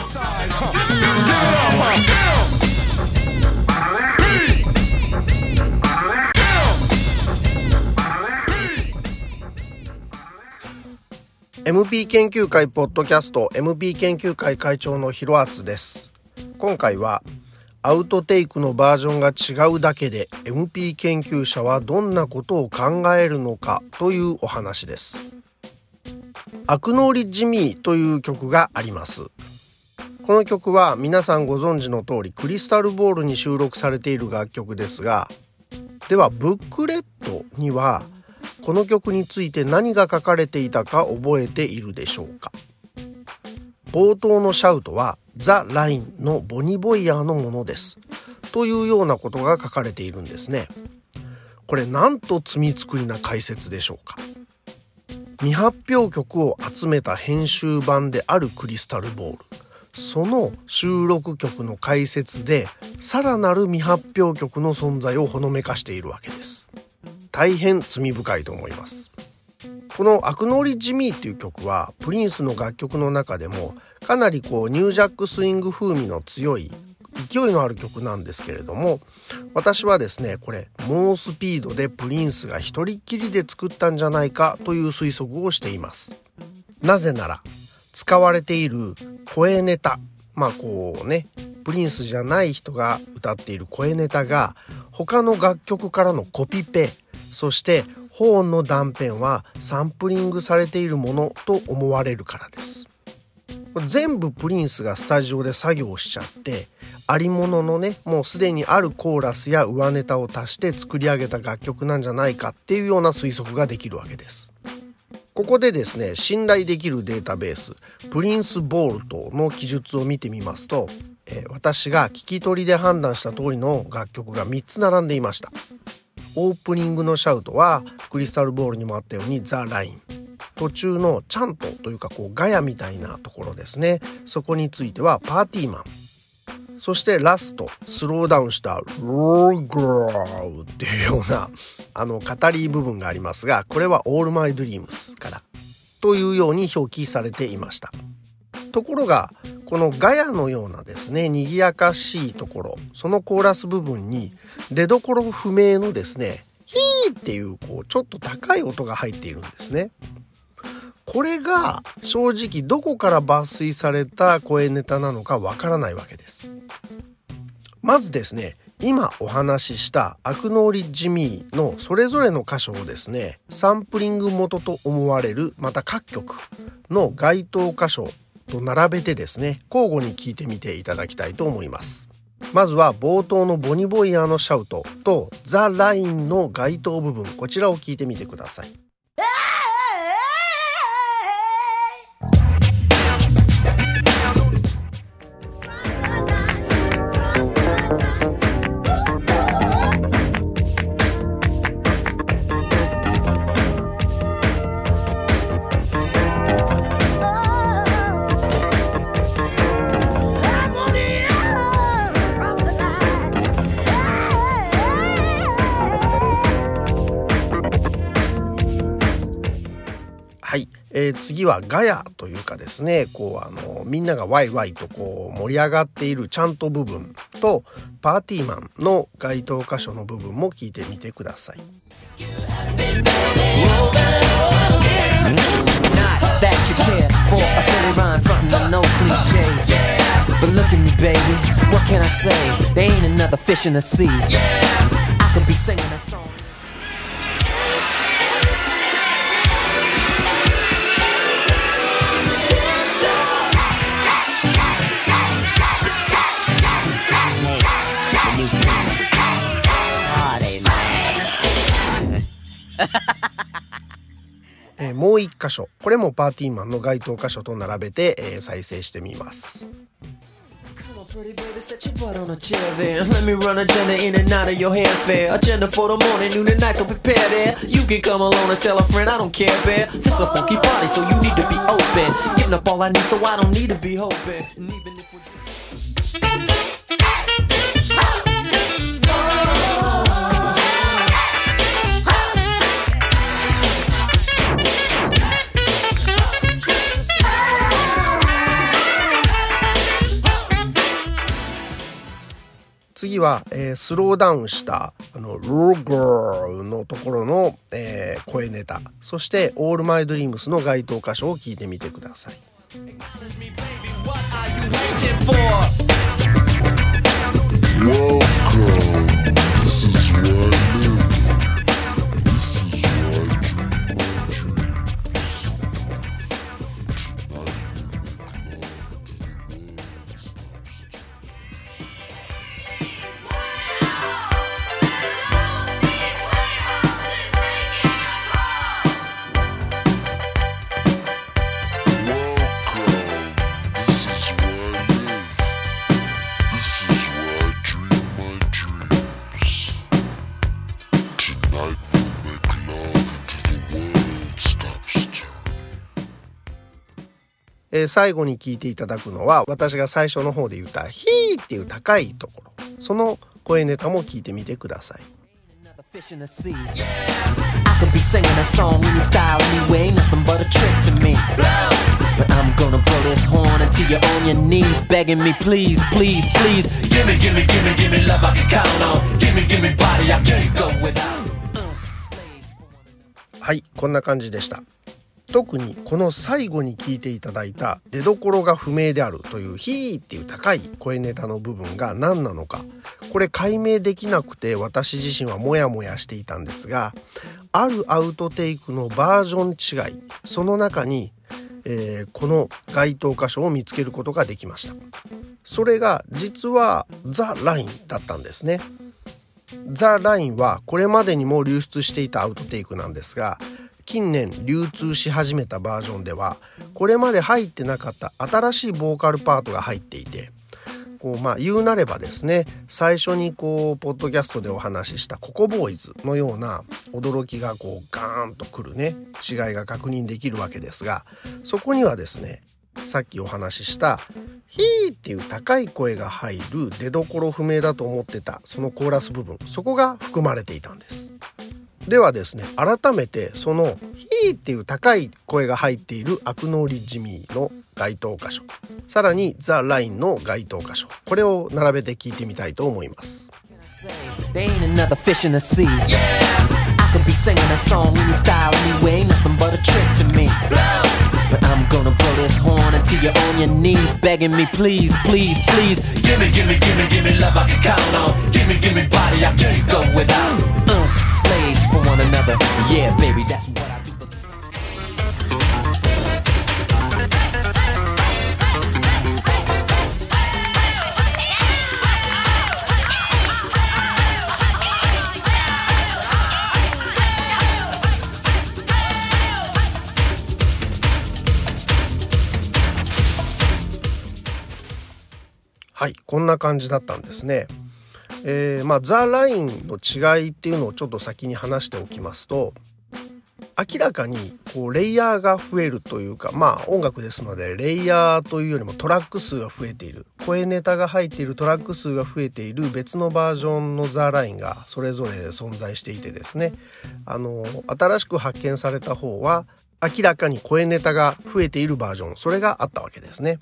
MP 研究会ポッドキャスト MP 研究会会長のひろあつです。今回はアウトテイクのバージョンが違うだけで MP 研究者はどんなことを考えるのかというお話です。アクノーリッジミーという曲があります。この曲は皆さんご存知の通りクリスタルボールに収録されている楽曲ですが、ではブックレットにはこの曲について何が書かれていたか覚えているでしょうか。冒頭のシャウトはザ・ラインのボニー・ボイヤーのものですというようなことが書かれているんですね。これなんと罪作りな解説でしょうか。未発表曲を集めた編集版であるクリスタルボール、その収録曲の解説でさらなる未発表曲の存在をほのめかしているわけです。大変罪深いと思います。このアクノーリッジミーっていう曲はプリンスの楽曲の中でもかなりニュージャックスイング風味の強い勢いのある曲なんですけれども、私はですねこれ猛スピードでプリンスが一人っきりで作ったんじゃないかという推測をしています。なぜなら使われている声ネタ、プリンスじゃない人が歌っている声ネタが他の楽曲からのコピペ、そしてホーンの断片はサンプリングされているものと思われるからです。全部プリンスがスタジオで作業しちゃってありもののもうすでにあるコーラスや上ネタを足して作り上げた楽曲なんじゃないかっていうような推測ができるわけです。ここでですね信頼できるデータベースプリンスボールトの記述を見てみますと、私が聞き取りで判断した通りの楽曲が3つ並んでいました。オープニングのシャウトはクリスタルボールにもあったようにザ・ライン、途中のチャントというかガヤみたいなところですね、そこについてはパーティーマン、そしてラストスローダウンしたローグローっていうような語り部分がありますが、これはオールマイドリームスからというように表記されていました。ところがこのガヤのようなですね賑やかしいところ、そのコーラス部分に出どころ不明のですねヒーっていうちょっと高い音が入っているんですね。これが正直どこから抜粋された声ネタなのかわからないわけです。まずですね今お話ししたアクノーリッジミーのそれぞれの箇所をですねサンプリング元と思われるまた各曲の該当箇所と並べてですね交互に聞いてみていただきたいと思います。まずは冒頭のボニー・ボイヤーのシャウトとザ・ラインの該当部分、こちらを聞いてみてください。次はガヤというかですねみんながワイワイと盛り上がっているチャント部分とパーティーマンの該当箇所の部分も聞いてみてください。もう一箇所、これもパーティーマンの該当箇所と並べて、再生してみます。 Pretty baby, set your butt on a chair there. Let me run agenda in and out of your hair fair. Agenda for the morning, noon and night, so prepare there. You can come along and tell a friend I don't care, bear. This a funky party, so you need to be open. Getting up all I need, so I don't need to be hoping. And even if we 次は、スローダウンしたローガーのところの、声ネタ、そしてオールマイドリームスの該当箇所を聞いてみてください。最後に聞いていただくのは、私が最初の方で言ったヒーっていう高いところ、その声ネタも聞いてみてください。はい、こんな感じでした。特にこの最後に聞いていただいた出どころが不明であるというヒーっていう高い声ネタの部分が何なのか、これ解明できなくて私自身はモヤモヤしていたんですが、あるアウトテイクのバージョン違い、その中に、この該当箇所を見つけることができました。それが実はザ・ラインだったんですね。ザ・ラインはこれまでにも流出していたアウトテイクなんですが、近年流通し始めたバージョンではこれまで入ってなかった新しいボーカルパートが入っていて、言うなればですね、最初にポッドキャストでお話ししたココボーイズのような驚きがガーンとくるね、違いが確認できるわけですが、そこにはですね、さっきお話ししたヒーっていう高い声が入る出どころ不明だと思ってたそのコーラス部分、そこが含まれていたんです。ではですね、改めてそのヒーっていう高い声が入っているアクノーリッジミーの該当箇所、さらにザ・ラインの該当箇所、これを並べて聞いてみたいと思います。Could be singing a song any style anyway, nothing but a trick to me. But I'm gonna blow this horn until you're on your knees, begging me, please, please, please. Gimme, gimme, gimme, gimme love I can count on. Gimme, gimme body I can't go without. Slaves for one another, yeah, baby, that's what I do. はい、こんな感じだったんですね。ザ・ラインの違いっていうのをちょっと先に話しておきますと、明らかにレイヤーが増えるというか、音楽ですのでレイヤーというよりもトラック数が増えている、声ネタが入っているトラック数が増えている別のバージョンのザ・ラインがそれぞれ存在していてですね、新しく発見された方は明らかに声ネタが増えているバージョン、それがあったわけですね。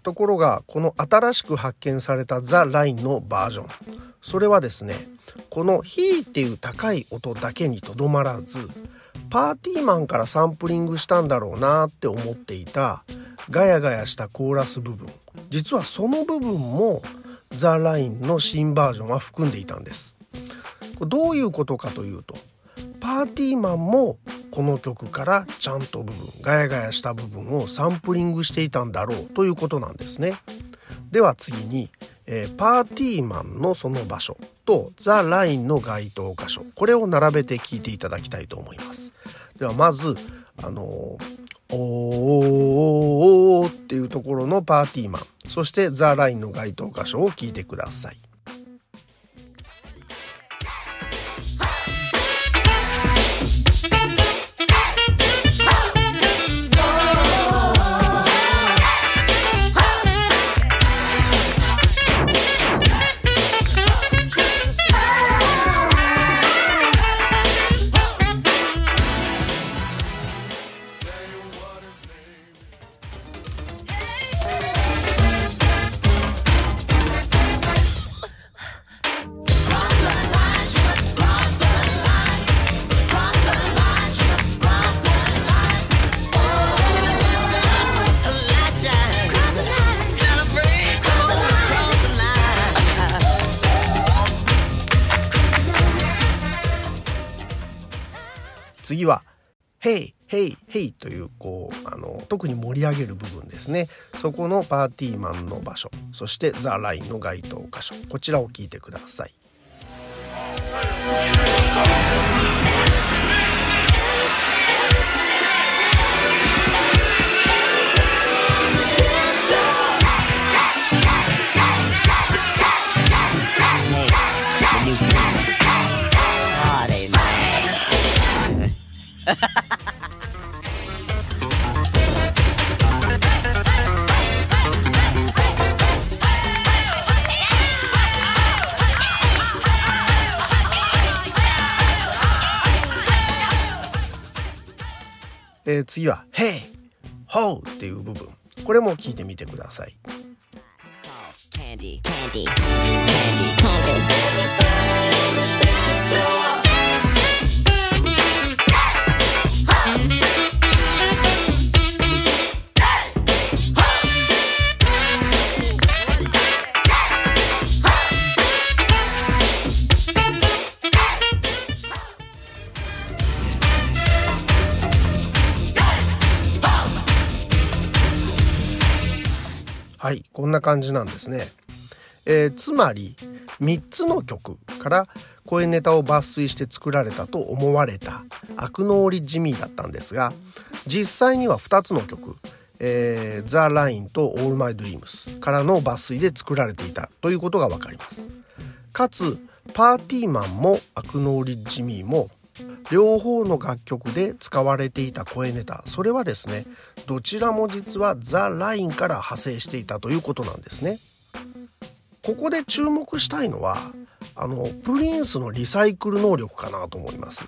ところがこの新しく発見されたザ・ラインのバージョン、それはですね、このヒーっていう高い音だけにとどまらず、パーティーマンからサンプリングしたんだろうなって思っていたガヤガヤしたコーラス部分、実はその部分もザ・ラインの新バージョンは含んでいたんです。これどういうことかというと、パーティーマンもこの曲からちゃんとガヤガヤした部分をサンプリングしていたんだろうということなんですね。では次に、パーティーマンのその場所とザ・ラインの該当箇所、これを並べて聞いていただきたいと思います。ではまずおーっていうところのパーティーマン、そしてザ・ラインの該当箇所を聞いてください。次はヘイヘイヘイという特に盛り上げる部分ですね。そこのパーティーマンの場所、そしてザ・ラインの該当箇所、こちらを聞いてください。次はヘイホーっていう部分、これも聞いてみてください。はい、こんな感じなんですね。つまり3つの曲から声ネタを抜粋して作られたと思われたアクノーリッジ・ミーだったんですが、実際には2つの曲、ザ・ラインとオールマイ・ドリームスからの抜粋で作られていたということが分かります。かつパーティーマンもアクノーリッジ・ミーも両方の楽曲で使われていた声ネタ、それはですね、どちらも実はザ・ラインから派生していたということなんですね。ここで注目したいのはプリンスのリサイクル能力かなと思います。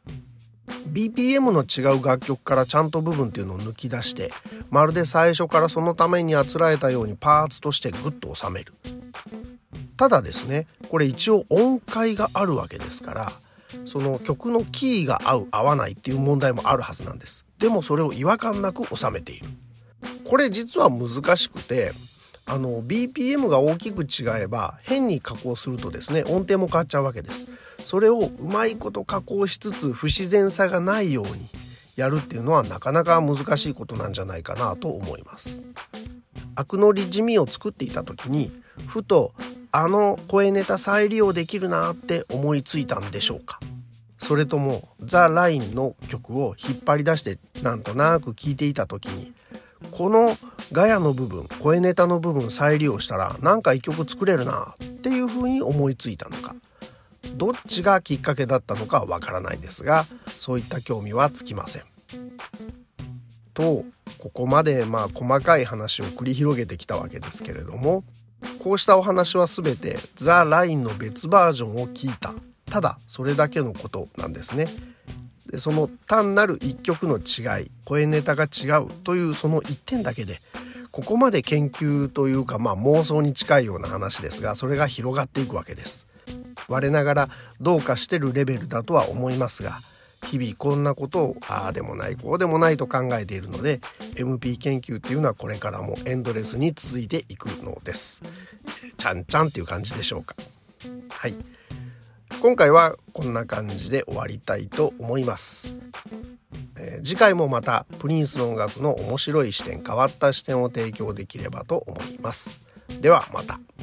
BPM の違う楽曲からちゃんと部分っていうのを抜き出して、まるで最初からそのためにあつらえたようにパーツとしてグッと収める。ただですね、これ一応音階があるわけですから、その曲のキーが合う合わないっていう問題もあるはずなんです。でもそれを違和感なく収めている。これ実は難しくて、BPM が大きく違えば変に加工するとですね、音程も変わっちゃうわけです。それをうまいこと加工しつつ不自然さがないようにやるっていうのはなかなか難しいことなんじゃないかなと思います。アクノリッジ・ミーを作っていた時にふと声ネタ再利用できるなって思いついたんでしょうか。それともザ・ラインの曲を引っ張り出してなんとなく聴いていた時に、このガヤの部分、声ネタの部分再利用したらなんか一曲作れるなっていう風に思いついたのか、どっちがきっかけだったのかわからないですが、そういった興味はつきません。とここまで細かい話を繰り広げてきたわけですけれども、こうしたお話はすべてザ・ラインの別バージョンを聞いた、ただそれだけのことなんですね。でその単なる一曲の違い、声ネタが違うというその一点だけでここまで研究というか、妄想に近いような話ですが、それが広がっていくわけです。我ながらどうかしてるレベルだとは思いますが、日々こんなことをああでもないこうでもないと考えているので、 MP 研究っていうのはこれからもエンドレスに続いていくのです。ちゃんちゃんっていう感じでしょうか。はい、今回はこんな感じで終わりたいと思います。次回もまたプリンスの音楽の面白い視点、変わった視点を提供できればと思います。ではまた。